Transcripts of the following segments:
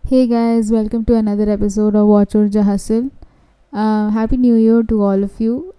Hey guys, welcome to another episode of Watch Urja Hustle. Happy New Year to all of you,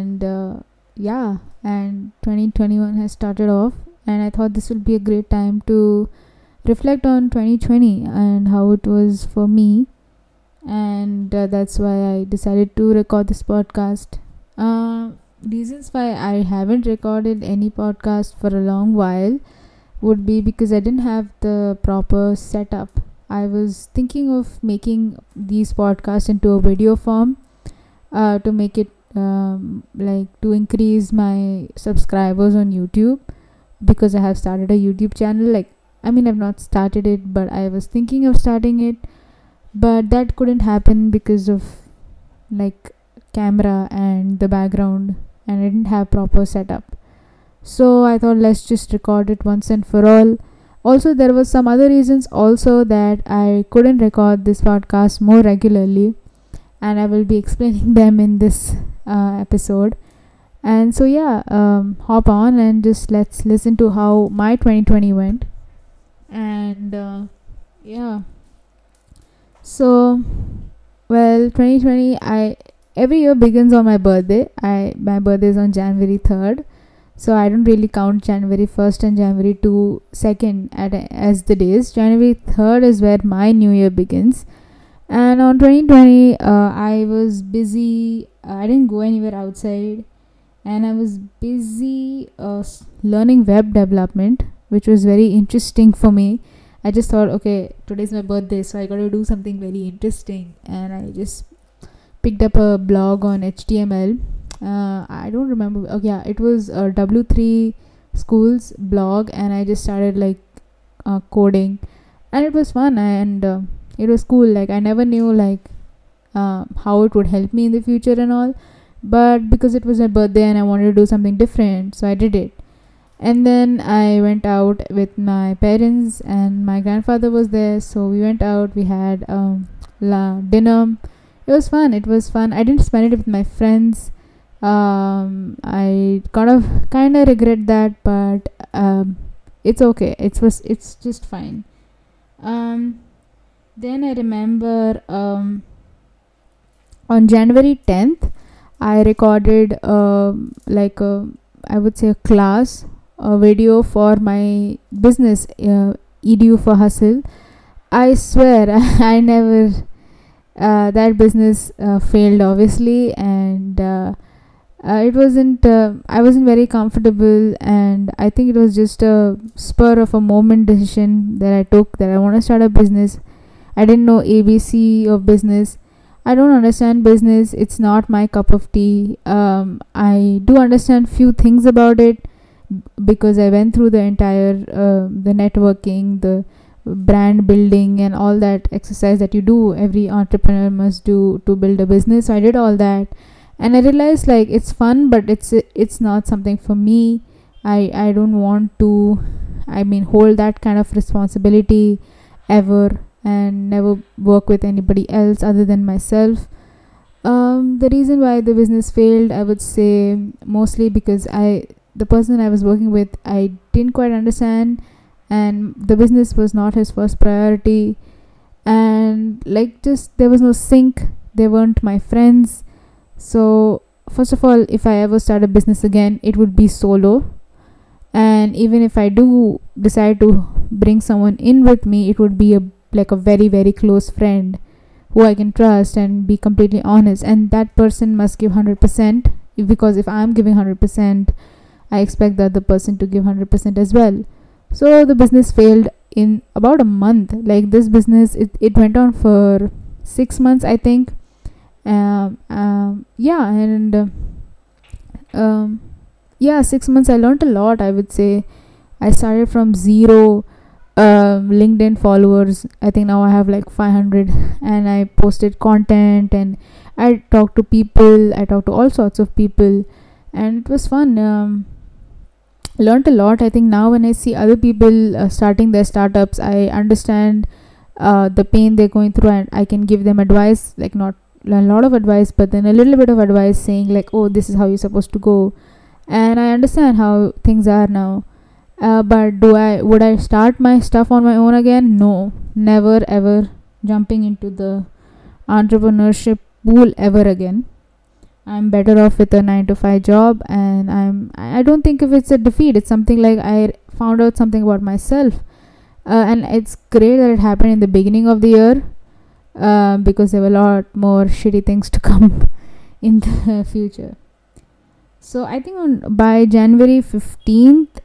and 2021 has started off, and I thought this would be a great time to reflect on 2020 and how it was for me, and that's why I decided to record this podcast. Reasons why I haven't recorded any podcast for a long while would be because I didn't have the proper setup. I was thinking of making these podcasts into a video form to make it to increase my subscribers on YouTube, because I have started a YouTube channel. I've not started it, but I was thinking of starting it, but that couldn't happen because of like camera and the background, and I didn't have proper setup. So I thought, let's just record it once and for all. Also, there was some other reasons also that I couldn't record this podcast more regularly, and I will be explaining them in this episode. And so hop on and just let's listen to how my 2020 went. And so 2020, I every year begins on my birthday. My birthday is on January 3rd. So I don't really count January 1st and January 2nd as the days. January 3rd is where my new year begins. And on 2020, I was busy. I didn't go anywhere outside. And I was busy learning web development, which was very interesting for me. I just thought, okay, today's my birthday, so I got to do something very interesting. And I just picked up a blog on HTML. I don't remember. It was a W3 Schools blog, and I just started coding, and it was fun, and it was cool. I never knew how it would help me in the future and all, but because it was my birthday and I wanted to do something different, so I did it. And then I went out with my parents, and my grandfather was there, so we went out. We had dinner. It was fun. I didn't spend it with my friends. I kind of regret that, but it's okay. It's just fine. Then I remember on January 10th, I recorded I would say a class, a video for my business, Edu for Hustle. I swear I never that business failed, obviously, and I wasn't very comfortable, and I think it was just a spur of a moment decision that I took, that I want to start a business. I didn't know ABC of business. I don't understand business. It's not my cup of tea. I do understand few things about it because I went through the entire the networking, the brand building, and all that exercise that you do, every entrepreneur must do to build a business. So I did all that. And I realized it's fun, but it's not something for me. I don't want to, hold that kind of responsibility ever, and never work with anybody else other than myself. The reason why the business failed, I would say, mostly because the person I was working with, I didn't quite understand, and the business was not his first priority. And there was no sync. They weren't my friends. So first of all, if I ever start a business again, it would be solo. And even if I do decide to bring someone in with me, it would be a very, very close friend who I can trust and be completely honest. And that person must give 100%, because if I'm giving 100%, I expect the other person to give 100% as well. So the business failed in about a month. This business, it went on for 6 months, I think. 6 months I learned a lot, I would say. I started from zero LinkedIn followers. I think now I have 500, and I posted content, and I talked to people. I talked to all sorts of people, and it was fun. Learned a lot. I think now when I see other people starting their startups, I understand the pain they're going through, and I can give them advice, not a lot of advice, but then a little bit of advice, saying oh, this is how you're supposed to go. And I understand how things are now. But would I start my stuff on my own again? No, never ever. jumping into the entrepreneurship pool ever again. I'm better off with a 9 to 5 job, and I don't think if it's a defeat. It's something like I found out something about myself, and it's great that it happened in the beginning of the year, because there were a lot more shitty things to come in the future. So I think by January 15th,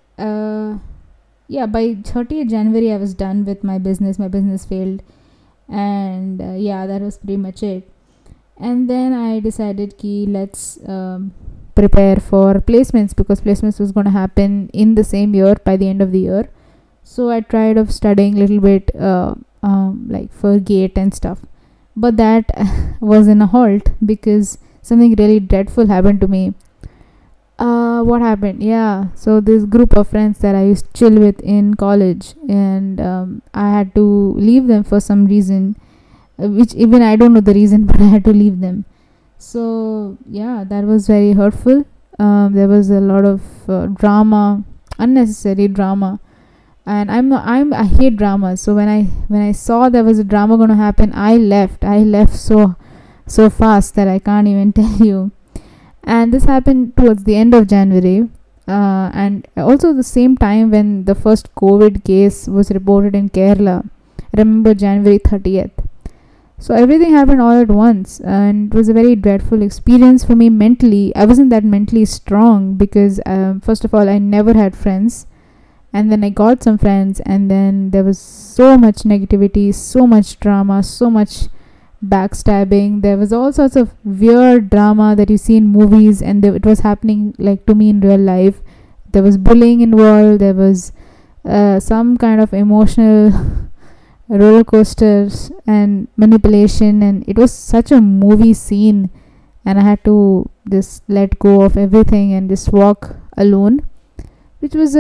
by 30th January, I was done with my business. My business failed, and that was pretty much it. And then I decided let's prepare for placements, because placements was going to happen in the same year, by the end of the year. So I tried of studying a little bit like for GATE and stuff, but that was in a halt because something really dreadful happened to me. What happened? So this group of friends that I used to chill with in college, and I had to leave them for some reason, which even I don't know the reason, but I had to leave them. So that was very hurtful. There was a lot of drama, unnecessary drama, and I hate drama. So when I saw there was a drama going to happen, I left so fast that I can't even tell you. And this happened towards the end of January, and also the same time when the first COVID case was reported in Kerala. I remember January 30th. So everything happened all at once, and it was a very dreadful experience for me mentally. I wasn't that mentally strong because first of all, I never had friends, and then I got some friends, and then there was so much negativity, so much drama, so much backstabbing. There was all sorts of weird drama that you see in movies, and it was happening like to me in real life. There was bullying involved. There was some kind of emotional roller coasters and manipulation, and it was such a movie scene, and I had to just let go of everything and just walk alone, which was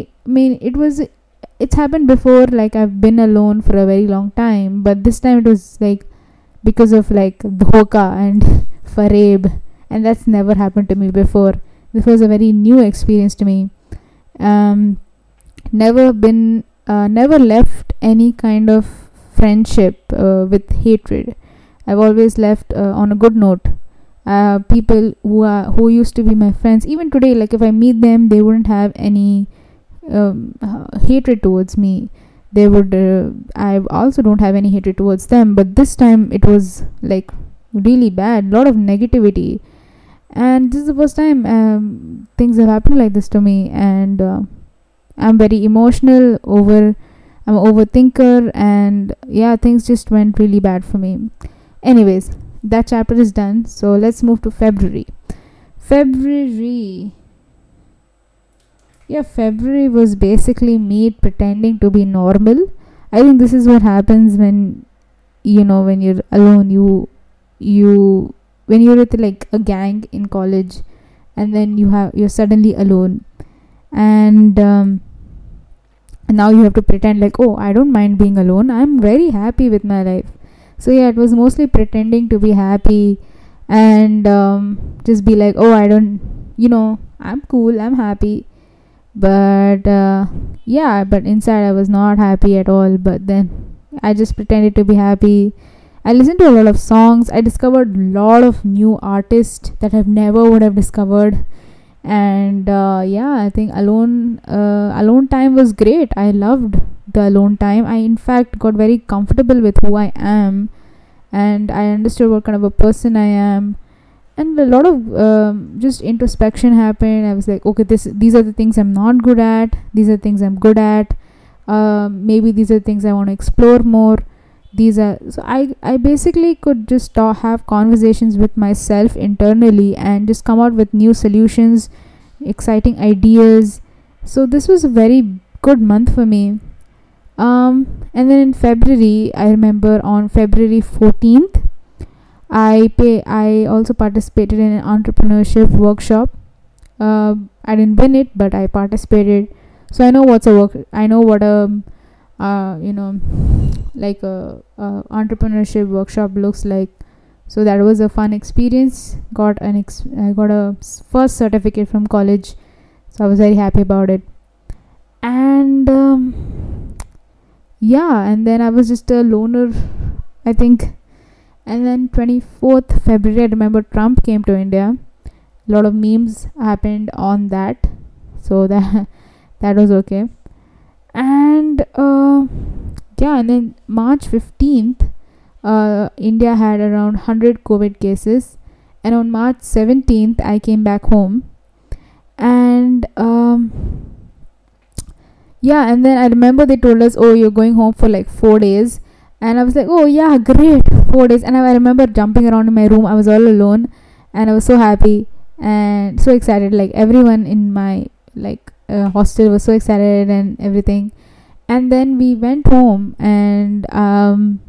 it's happened before. Like, I've been alone for a very long time, but this time it was like because of like Dhoka and Fareb, and that's never happened to me before. This was a very new experience to me. Never left any kind of friendship with hatred. I've always left on a good note. People who used to be my friends, even today, like if I meet them, they wouldn't have any hatred towards me. They would I also don't have any hatred towards them, but this time it was like really bad, a lot of negativity, and this is the first time things have happened like this to me. And I'm very emotional, I'm an overthinker, and things just went really bad for me. Anyways, that chapter is done, so let's move to February. February was basically me pretending to be normal. I think this is what happens when when you're alone. You when you're with like a gang in college, and then you're suddenly alone, and now you have to pretend like, oh, I don't mind being alone, I'm very happy with my life. So it was mostly pretending to be happy, and just be like, oh, I don't, I'm cool, I'm happy. But but inside I was not happy at all. But then I just pretended to be happy. I listened to a lot of songs. I discovered a lot of new artists that I never would have discovered. And I think alone time was great. I loved the alone time. I in fact got very comfortable with who I am, and I understood what kind of a person I am. And a lot of just introspection happened. I was like, okay, these are the things I'm not good at. These are things I'm good at. Maybe these are things I want to explore more. So I basically could just have conversations with myself internally and just come out with new solutions, exciting ideas. So this was a very good month for me. And then in February, I remember on February 14th, I also participated in an entrepreneurship workshop. I didn't win it, but I participated. So I know what like a entrepreneurship workshop looks like. So that was a fun experience. I got a first certificate from college, so I was very happy about it. And and then I was just a loner I think. And then 24th February, I remember Trump came to India. A lot of memes happened on that, so that was okay. And and then March 15th, India had around 100 COVID cases, and on March 17th, I came back home, and and then I remember they told us, oh, you're going home for like 4 days. And I was like, oh yeah, great, 4 days. And I remember jumping around in my room. I was all alone, and I was so happy and so excited. Like everyone in my hostel was so excited and everything. And then we went home, and and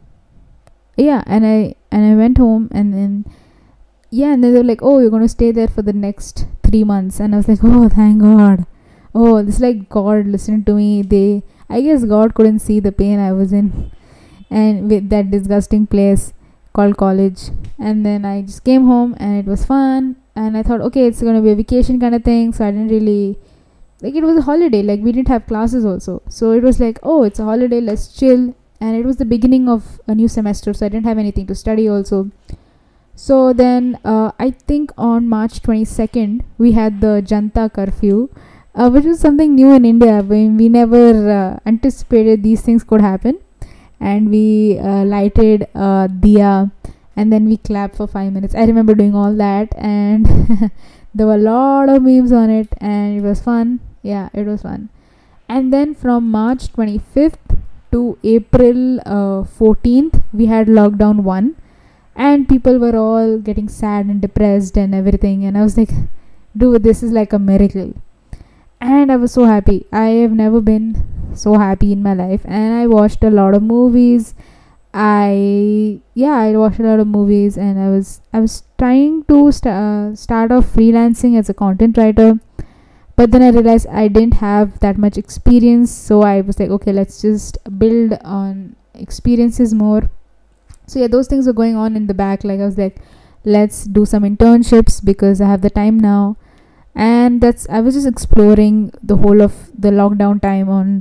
I went home, and then and then they were like, oh, you're gonna stay there for the next 3 months. And I was like, oh, thank God. Oh, this is like God listening to me. I guess God couldn't see the pain I was in, and with that disgusting place called college. And then I just came home, and it was fun, and I thought, okay, it's gonna be a vacation kind of thing. So I didn't really it was a holiday, like we didn't have classes also, so it was like, oh, it's a holiday, let's chill. And it was the beginning of a new semester, so I didn't have anything to study also. So then I think on March 22nd we had the Janta curfew, which was something new in India. We never anticipated these things could happen. And we lighted diya, and then we clapped for 5 minutes. I remember doing all that, and there were a lot of memes on it, and it was fun. Yeah, it was fun. And then from March 25th to April 14th, we had lockdown 1, and people were all getting sad and depressed and everything. And I was like, dude, this is like a miracle. And I was so happy. I have never been so happy in my life. And I watched a lot of movies. I watched a lot of movies, and I was trying to start off freelancing as a content writer, but then I realized I didn't have that much experience. So I was like, okay, let's just build on experiences more. So yeah, those things were going on in the back. Like I was like, let's do some internships because I have the time now. And I was just exploring the whole of the lockdown time on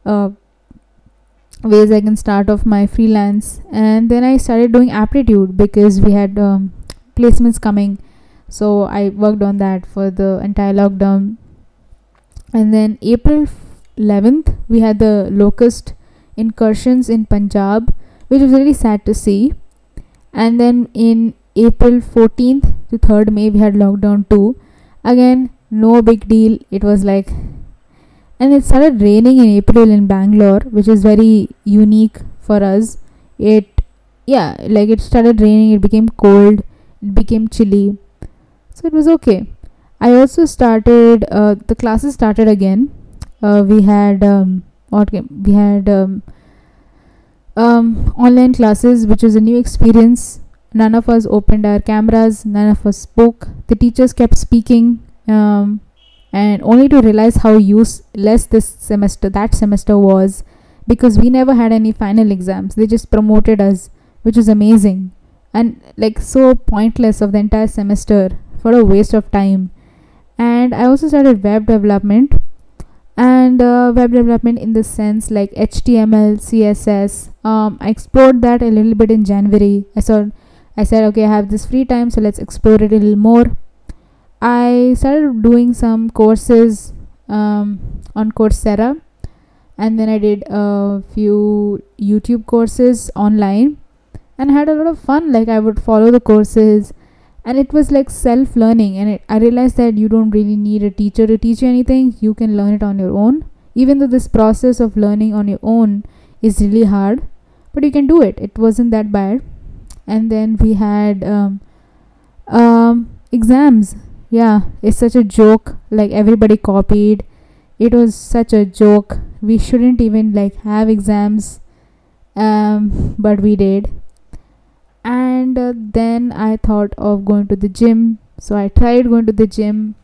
ways I can start off my freelance. And then I started doing aptitude because we had placements coming, so I worked on that for the entire lockdown. And then April 11th we had the locust incursions in Punjab, which was really sad to see. And then in April 14th to 3rd May we had lockdown 2. Again, no big deal. It was like, and it started raining in April in Bangalore, which is very unique for us. It started raining, it became cold, it became chilly. So it was okay. I also started, the classes started again. We had online classes, which was a new experience. None of us opened our cameras, none of us spoke. The teachers kept speaking, and only to realize how useless that semester was, because we never had any final exams. They just promoted us, which was amazing, and like so pointless of the entire semester, for a waste of time. And I also started web development, and web development in the sense like HTML, CSS. I explored that a little bit in January. I said, okay, I have this free time, so let's explore it a little more. I started doing some courses on Coursera, and then I did a few YouTube courses online, and I had a lot of fun. Like I would follow the courses, and it was like self-learning, and I realized that you don't really need a teacher to teach you anything. You can learn it on your own, even though this process of learning on your own is really hard, but you can do it. It wasn't that bad. And then we had exams. Yeah, it's such a joke. Like everybody copied. It was such a joke. We shouldn't even like have exams, but we did. And then I thought of going to the gym. So I tried going to the gym.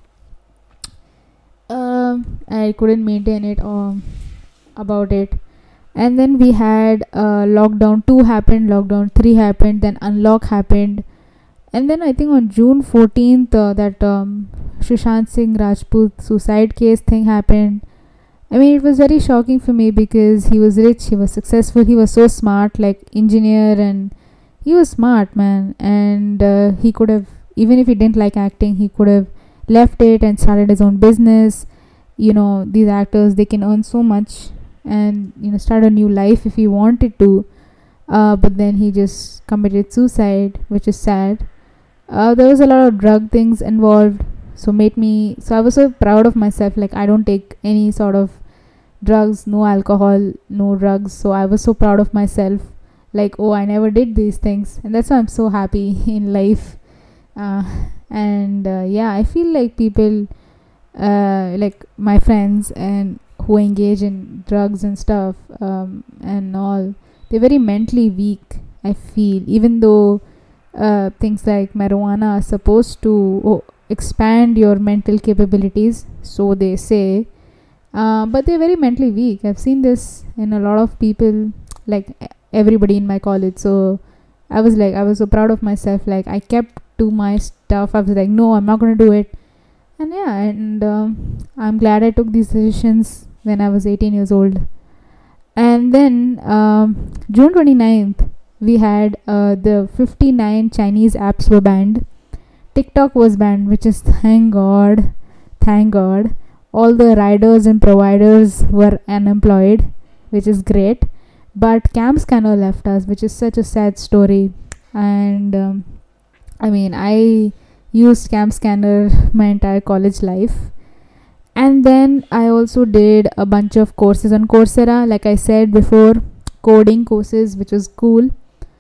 I couldn't maintain it about it. And then we had lockdown 2 happened, lockdown 3 happened, then unlock happened. And then I think on June 14th, that Sushant Singh Rajput suicide case thing happened. I mean, it was very shocking for me because he was rich, he was successful, he was so smart, like engineer, and he was smart, man. And he could have, even if he didn't like acting, he could have left it and started his own business. These actors, they can earn so much and start a new life if he wanted to. But then he just committed suicide, which is sad. There was a lot of drug things involved, so I was so proud of myself. Like, I don't take any sort of drugs, no alcohol, no drugs. So I was so proud of myself, like, oh, I never did these things, and that's why I'm so happy in life. uh, and yeah, I feel like people, like my friends and who engage in drugs and stuff, and all, they're very mentally weak, I feel, even though things like marijuana are supposed to expand your mental capabilities, so they say. But they're very mentally weak. I've seen this in a lot of people, like everybody in my college. So I was so proud of myself. Like, I kept to my stuff. I was like, no, I'm not going to do it. And yeah, and I'm glad I took these decisions when I was 18 years old. And then June 29th, we had the 59 Chinese apps were banned. TikTok was banned, which is thank God. Thank God. All the riders and providers were unemployed, which is great. But Cam Scanner left us, which is such a sad story. And I mean, I used Cam Scanner my entire college life. And then I also did a bunch of courses on Coursera, like I said before, coding courses, which was cool.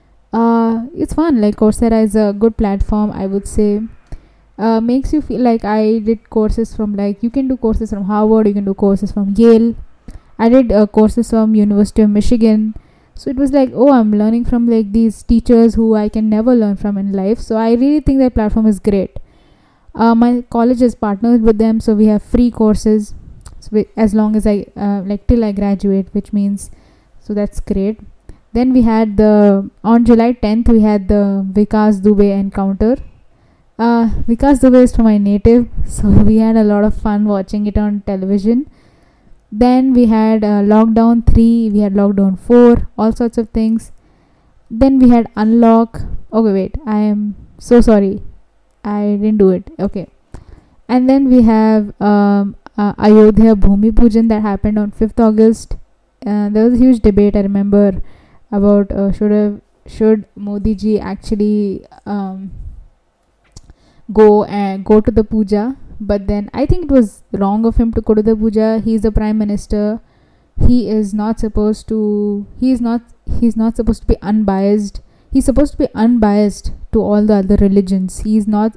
It's fun. Like, Coursera is a good platform, I would say. Makes you feel like I did courses from, like, you can do courses from Harvard, you can do courses from Yale. I did courses from University of Michigan. So it was like, oh, I'm learning from like these teachers who I can never learn from in life. So I really think that platform is great. My college is partnered with them, so we have free courses, so as long as I like till I graduate, which means, so that's great. Then we had on July 10th, we had the Vikas Dubey encounter. Vikas Dubey is from my native, so we had a lot of fun watching it on television. Then we had Lockdown 3, we had Lockdown 4, all sorts of things. Then we had Unlock. Okay, wait, I am so sorry, I didn't do it. Okay. And then we have Ayodhya Bhumi Pujan that happened on 5th August. There was a huge debate, I remember, about should Modi ji actually go to the puja. But then I think it was wrong of him to go to the puja. He's the prime minister. He's not supposed to be unbiased. He's supposed to be unbiased to all the other religions. He's not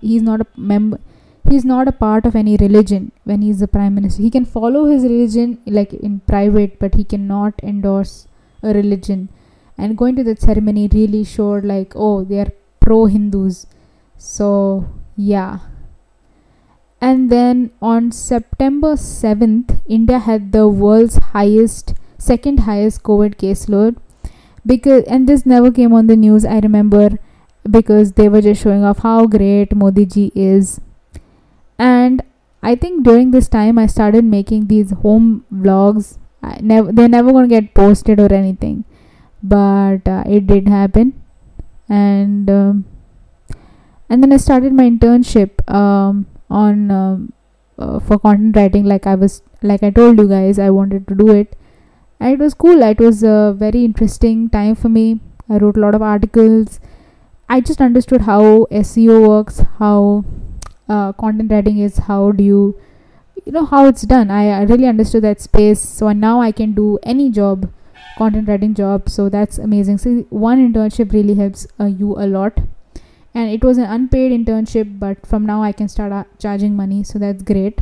a part of any religion when he's the prime minister. He can follow his religion like in private, but he cannot endorse a religion. And going to that ceremony really showed like, oh, they are pro-Hindus. So yeah. And then on September 7th, India had the world's second highest COVID caseload. And this never came on the news, I remember, because they were just showing off how great Modi ji is. And I think during this time, I started making these home vlogs. They're never going to get posted or anything, but it did happen. And then I started my internship for content writing. Like I told you guys, I wanted to do it, and it was cool. It was a very interesting time for me. I wrote a lot of articles. I just understood how SEO works, how content writing is, how do you how it's done. I really understood that space. So now I can do any job, content writing job. So that's amazing. So one internship really helps you a lot. And it was an unpaid internship, but from now I can start charging money, so that's great.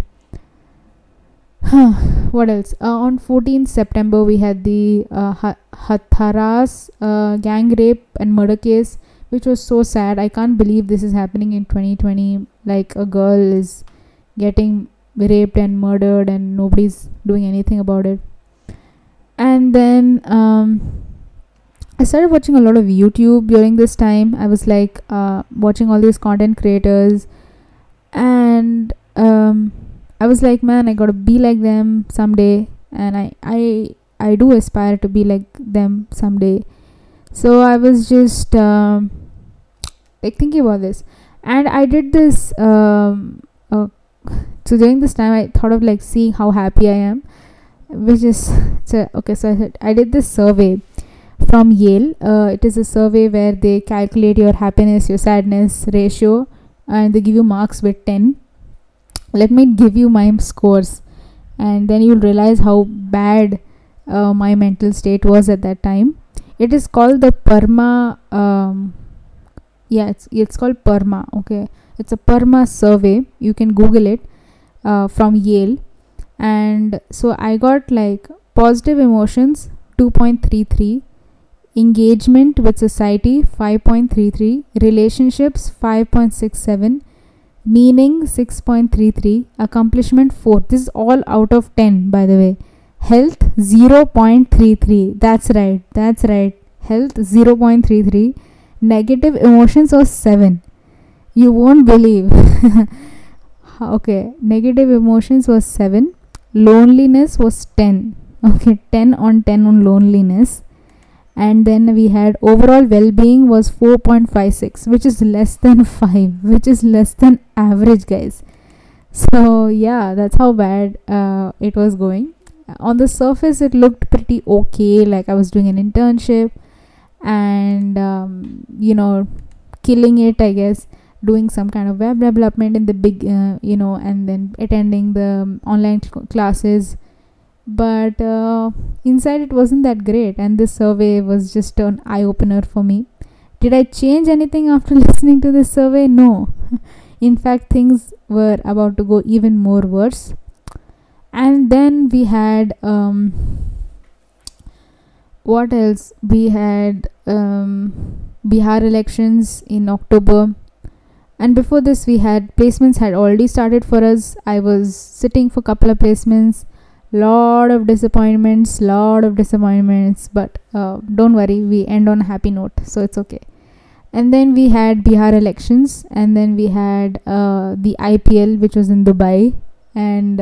What else? On 14th September, we had the Hathras gang rape and murder case, which was so sad. I can't believe this is happening in 2020. Like, a girl is getting raped and murdered and nobody's doing anything about it. And then I started watching a lot of YouTube during this time. I was like watching all these content creators, and I was like, man, I gotta be like them someday. and I do aspire to be like them someday. So I was just like thinking about this, and I did this so during this time I thought of like seeing how happy I am, which is so okay. So I did this survey from Yale. It is a survey where they calculate your happiness, your sadness ratio, and they give you marks with 10. Let me give you my scores, and then you'll realize how bad my mental state was at that time. It is called the PERMA. It's called PERMA. Okay, it's a PERMA survey. You can Google it, from Yale. And so I got like positive emotions 2.33, engagement with society 5.33, relationships 5.67, meaning 6.33, accomplishment 4. This is all out of 10, by the way. Health 0.33. That's right. Health 0.33. Negative emotions was 7. You won't believe. Okay, negative emotions was 7. Loneliness was 10. Okay, 10 on 10 on loneliness. And then we had overall well-being was 4.56, which is less than 5, which is less than average, guys. So yeah, that's how bad it was going. On the surface it looked pretty okay, like I was doing an internship and killing it, I guess, doing some kind of web development in the big and then attending the online classes. But inside it wasn't that great, and this survey was just an eye-opener for me. Did I change anything after listening to this survey? No. In fact, things were about to go even more worse. And then we had what else? We had Bihar elections in October. And before this, we had placements had already started for us. I was sitting for a couple of placements. Lot of disappointments, but don't worry, we end on a happy note, so it's okay. And then we had Bihar elections, and then we had the IPL, which was in Dubai, and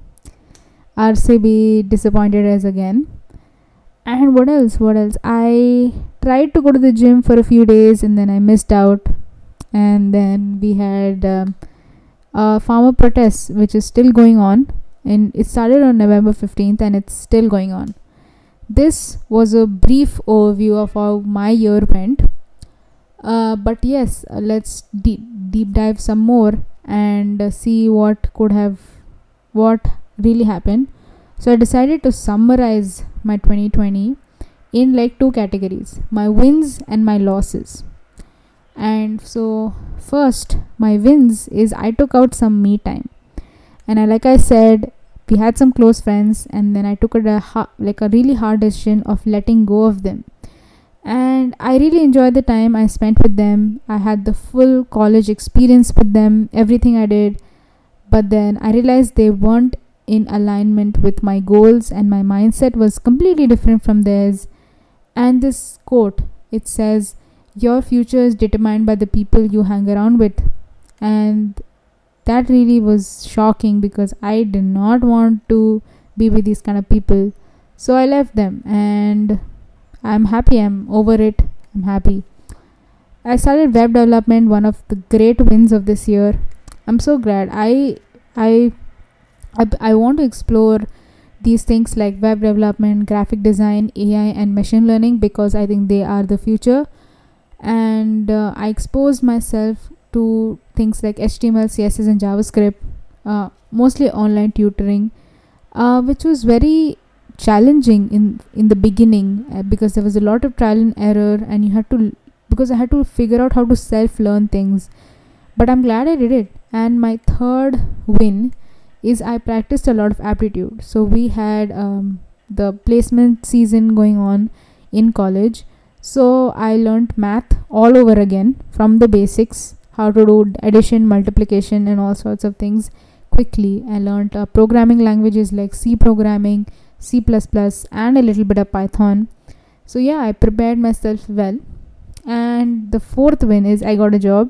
RCB disappointed us again. And what else? I tried to go to the gym for a few days, and then I missed out. And then we had farmer protests, which is still going on. And it started on November 15th and it's still going on. This was a brief overview of how my year went. But yes, let's deep dive some more and see what really happened. So I decided to summarize my 2020 in like 2 categories: my wins and my losses. And so first, my wins is I took out some me time. And like I said, we had some close friends, and then I took a really hard decision of letting go of them. And I really enjoyed the time I spent with them. I had the full college experience with them, everything I did. But then I realized they weren't in alignment with my goals, and my mindset was completely different from theirs. And this quote, it says, "Your future is determined by the people you hang around with." And that really was shocking because I did not want to be with these kind of people. So I left them, and I'm happy. I'm over it. I'm happy. I started web development, one of the great wins of this year. I'm so glad. I want to explore these things like web development, graphic design, AI, and machine learning because I think they are the future. And I exposed myself to things like HTML, CSS, and JavaScript, mostly online tutoring, which was very challenging in the beginning because there was a lot of trial and error, and I had to figure out how to self-learn things. But I'm glad I did it. And my third win is I practiced a lot of aptitude. So we had the placement season going on in college. So I learned math all over again from the basics, how to do addition, multiplication, and all sorts of things quickly. I learned programming languages like C programming, C++, and a little bit of Python. So yeah, I prepared myself well. And the fourth win is I got a job.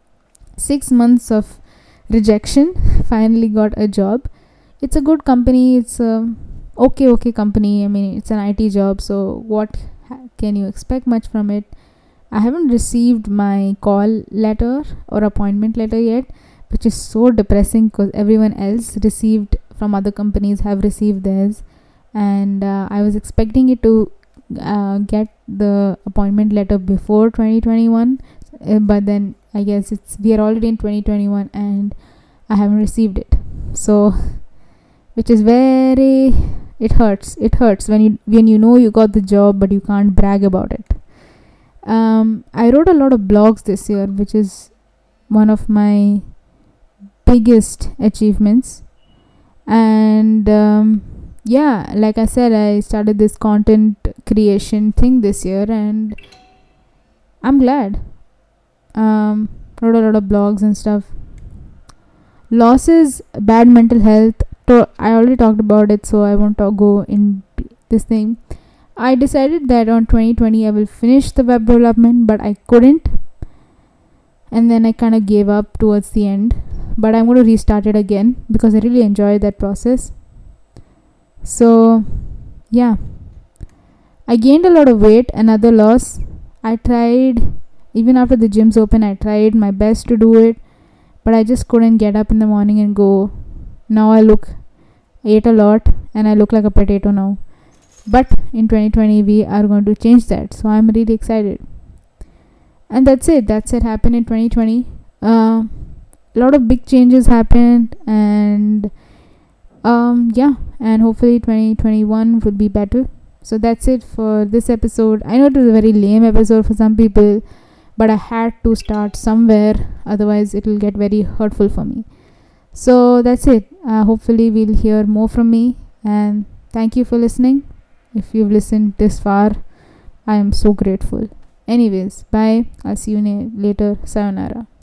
6 months of rejection, finally got a job. It's a good company. It's okay company. I mean, it's an IT job, so what can you expect much from it? I haven't received my call letter or appointment letter yet, which is so depressing because everyone else received from other companies have received theirs, and I was expecting it to get the appointment letter before 2021, but then I guess we are already in 2021 and I haven't received it. So, which is very, it hurts when you know you got the job but you can't brag about it. I wrote a lot of blogs this year, which is one of my biggest achievements. And yeah, like I said, I started this content creation thing this year, and I'm glad. Wrote a lot of blogs and stuff. Losses, bad mental health. I already talked about it, so I won't go in this thing. I decided that on 2020 I will finish the web development, but I couldn't, and then I kind of gave up towards the end. But I'm going to restart it again because I really enjoyed that process. So yeah, I gained a lot of weight. Another loss. I tried, even after the gyms open, I tried my best to do it, but I just couldn't get up in the morning and go. Now I ate a lot and I look like a potato now. But in 2020 we are going to change that, so I'm really excited. And that's it happened in 2020. A lot of big changes happened, and yeah, and hopefully 2021 will be better. So that's it for this episode. I know it was a very lame episode for some people, but I had to start somewhere, otherwise it will get very hurtful for me. So that's it. Hopefully we'll hear more from me, and thank you for listening. If you've listened this far, I am so grateful. Anyways, bye. I'll see you later. Sayonara.